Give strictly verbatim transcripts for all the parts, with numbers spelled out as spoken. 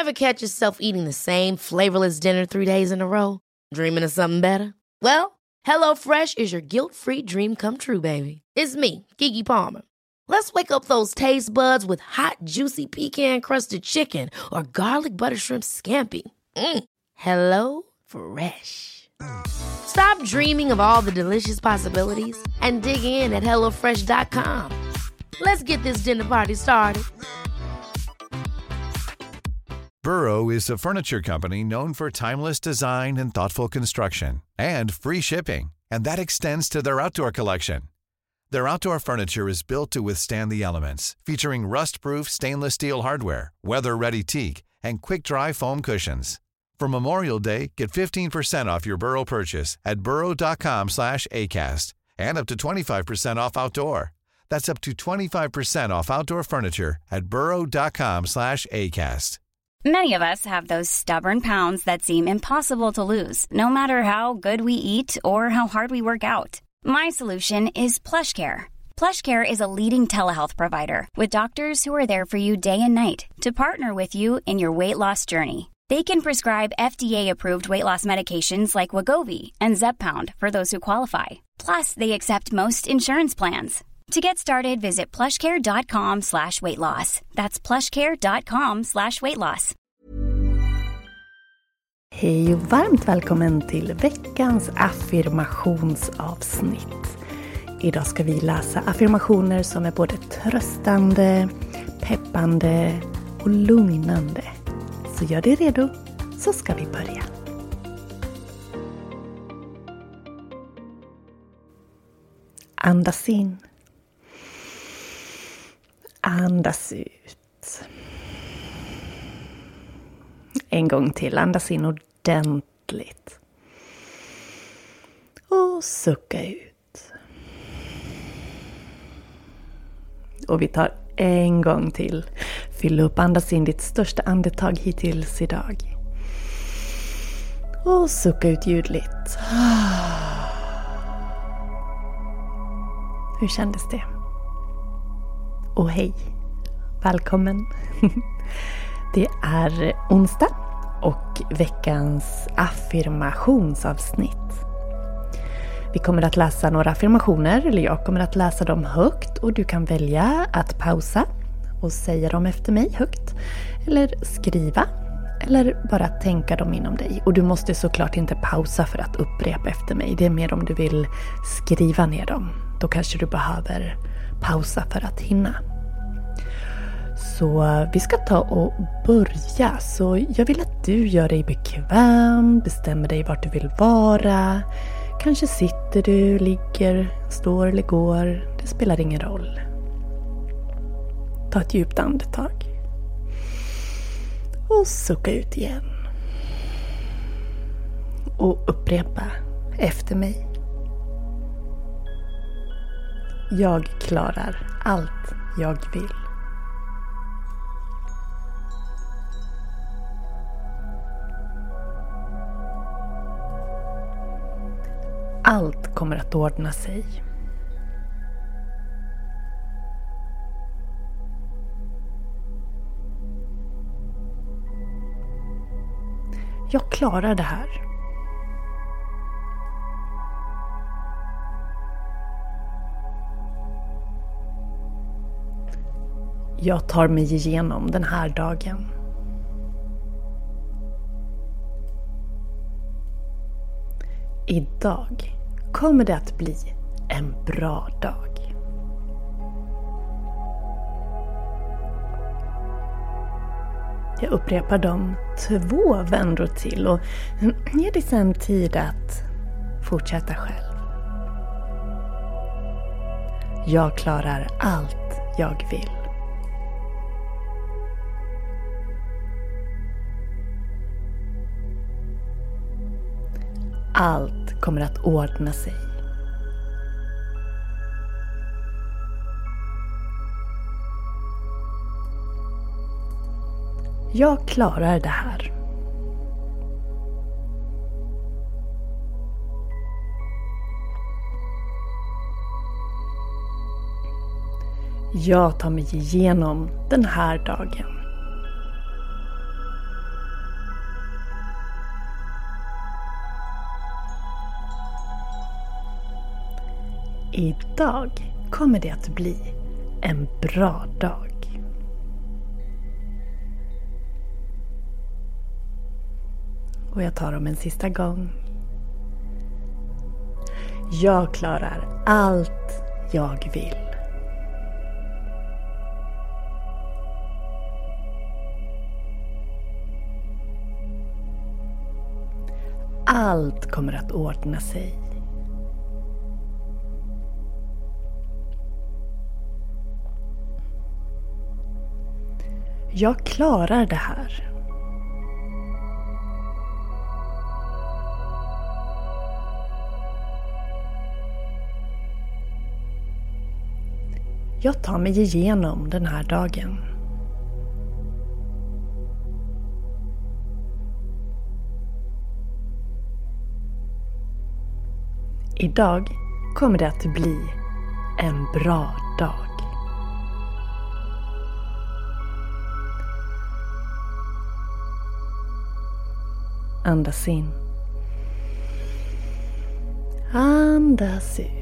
Ever catch yourself eating the same flavorless dinner three days in a row? Dreaming of something better? Well, HelloFresh is your guilt-free dream come true, baby. It's me, Keke Palmer. Let's wake up those taste buds with hot, juicy pecan-crusted chicken or garlic butter shrimp scampi. Mm. Hello Fresh. Stop dreaming of all the delicious possibilities and dig in at hello fresh dot com. Let's get this dinner party started. Burrow is a furniture company known for timeless design and thoughtful construction, and free shipping, and that extends to their outdoor collection. Their outdoor furniture is built to withstand the elements, featuring rust-proof stainless steel hardware, weather-ready teak, and quick-dry foam cushions. For Memorial Day, get fifteen percent off your Burrow purchase at burrow dot com slash acast, and up to twenty-five percent off outdoor. That's up to twenty-five percent off outdoor furniture at burrow dot com slash acast. Many of us have those stubborn pounds that seem impossible to lose, no matter how good we eat or how hard we work out. My solution is PlushCare. PlushCare is a leading telehealth provider with doctors who are there for you day and night to partner with you in your weight loss journey. They can prescribe F D A-approved weight loss medications like Wegovy and Zepbound for those who qualify. Plus, they accept most insurance plans. To get started, visit plushcare.com slash weight loss. That's plushcare.com slash weight loss. Hej och varmt välkommen till veckans affirmationsavsnitt. Idag ska vi läsa affirmationer som är både tröstande, peppande och lugnande. Så gör dig redo, så ska vi börja. Andas in. Andas ut. En gång till. Andas in ordentligt. Och sucka ut. Och vi tar en gång till. Fyll upp, andas in ditt största andetag hittills idag. Och sucka ut ljudligt. Hur kändes det? Och hej, välkommen. Det är onsdag och veckans affirmationsavsnitt. Vi kommer att läsa några affirmationer, eller jag kommer att läsa dem högt och du kan välja att pausa och säga dem efter mig högt, eller skriva, eller bara tänka dem inom dig. Och du måste såklart inte pausa för att upprepa efter mig. Det är mer om du vill skriva ner dem. Då kanske du behöver pausa för att hinna. Så vi ska ta och börja. Så jag vill att du gör dig bekväm, bestämmer dig vart du vill vara. Kanske sitter du, ligger, står eller går. Det spelar ingen roll. Ta ett djupt andetag. Och sucka ut igen. Och upprepa efter mig. Jag klarar allt jag vill. Allt kommer att ordna sig. Jag klarar det här. Jag tar mig igenom den här dagen. Idag kommer det att bli en bra dag. Jag upprepar dem två vändor till och ger dig sedan tid att fortsätta själv. Jag klarar allt jag vill. Allt kommer att ordna sig. Jag klarar det här. Jag tar mig igenom den här dagen. Idag kommer det att bli en bra dag. Och jag tar dem en sista gång. Jag klarar allt jag vill. Allt kommer att ordna sig. Jag klarar det här. Jag tar mig igenom den här dagen. Idag kommer det att bli en bra dag. Andas in. Andas ut.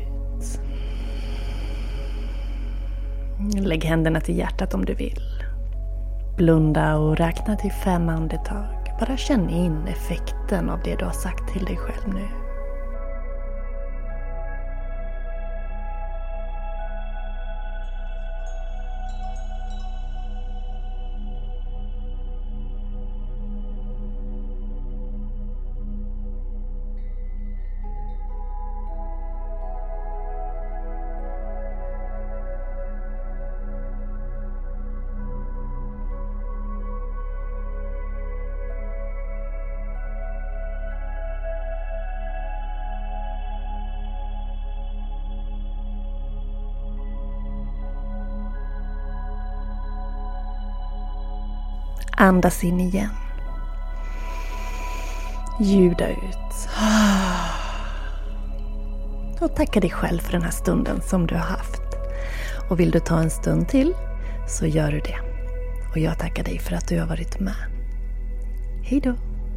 Lägg händerna till hjärtat om du vill. Blunda och räkna till fem andetag. Bara känn in effekten av det du har sagt till dig själv nu. Andas in igen. Ljuda ut. Och tacka dig själv för den här stunden som du har haft. Och vill du ta en stund till så gör du det. Och jag tackar dig för att du har varit med. Hej då!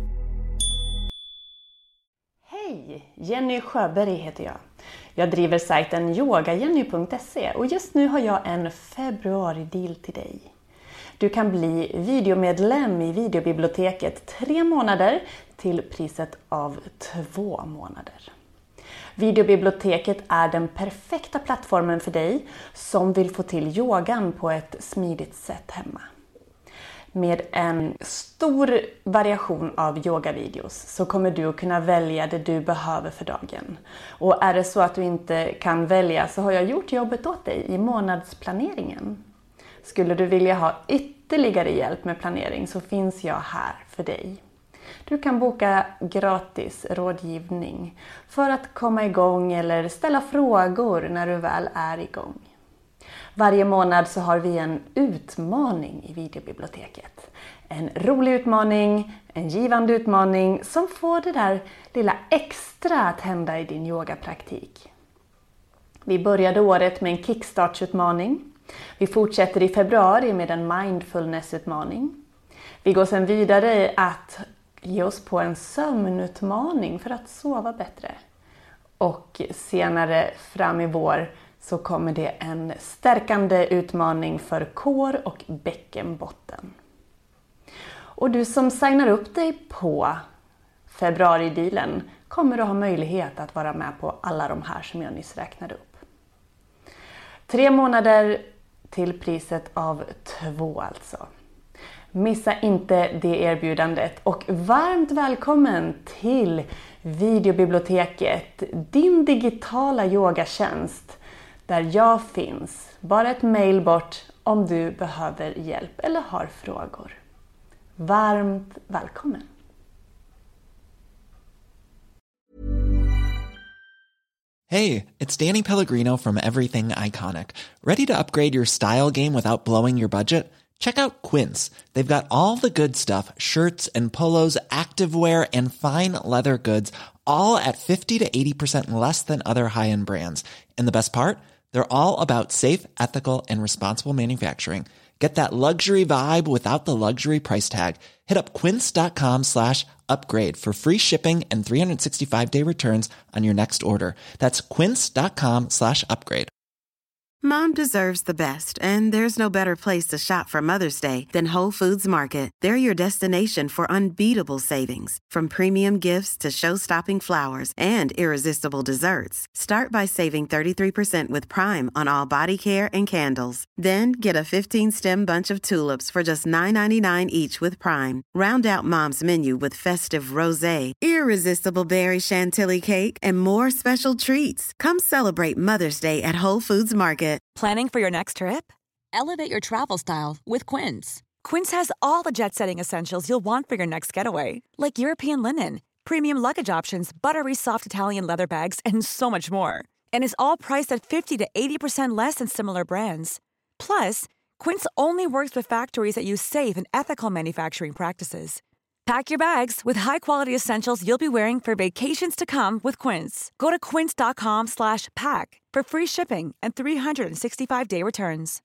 Hej! Jenny Sjöberg heter jag. Jag driver sajten yoga jenny punkt se och just nu har jag en februari-deal till dig. Du kan bli videomedlem i videobiblioteket tre månader till priset av två månader. Videobiblioteket är den perfekta plattformen för dig som vill få till yogan på ett smidigt sätt hemma. Med en stor variation av yogavideos så kommer du att kunna välja det du behöver för dagen. Och är det så att du inte kan välja så har jag gjort jobbet åt dig i månadsplaneringen. Skulle du vilja ha ytterligare hjälp med planering så finns jag här för dig. Du kan boka gratis rådgivning för att komma igång eller ställa frågor när du väl är igång. Varje månad så har vi en utmaning i videobiblioteket. En rolig utmaning, en givande utmaning som får det där lilla extra att hända i din yogapraktik. Vi började året med en kickstartsutmaning. Vi fortsätter i februari med en mindfulnessutmaning. Vi går sedan vidare att ge oss på en sömnutmaning för att sova bättre. Och senare fram i vår så kommer det en stärkande utmaning för kår och bäckenbotten. Och du som signar upp dig på februari-dealen kommer att ha möjlighet att vara med på alla de här som jag nyss räknade upp. Tre månader till priset av två alltså. Missa inte det erbjudandet och varmt välkommen till videobiblioteket, din digitala yogatjänst där jag finns. Bara ett mejl bort om du behöver hjälp eller har frågor. Varmt välkommen! Hey, it's Danny Pellegrino from Everything Iconic. Ready to upgrade your style game without blowing your budget? Check out Quince. They've got all the good stuff, shirts and polos, activewear, and fine leather goods, all at fifty to eighty percent less than other high-end brands. And the best part? They're all about safe, ethical, and responsible manufacturing. Get that luxury vibe without the luxury price tag. Hit up quince.com slash upgrade for free shipping and three sixty-five day returns on your next order. That's quince.com slash upgrade. Mom deserves the best, and there's no better place to shop for Mother's Day than Whole Foods Market. They're your destination for unbeatable savings, from premium gifts to show-stopping flowers and irresistible desserts. Start by saving thirty-three percent with Prime on all body care and candles. Then get a fifteen-stem bunch of tulips for just nine ninety-nine each with Prime. Round out Mom's menu with festive rosé, irresistible berry chantilly cake, and more special treats. Come celebrate Mother's Day at Whole Foods Market. Planning for your next trip? Elevate your travel style with Quince. Quince has all the jet-setting essentials you'll want for your next getaway, like European linen, premium luggage options, buttery soft Italian leather bags, and so much more. And is all priced at fifty to eighty percent less than similar brands. Plus, Quince only works with factories that use safe and ethical manufacturing practices. Pack your bags with high-quality essentials you'll be wearing for vacations to come with Quince. Go to quince.com slash pack for free shipping and three sixty-five day returns.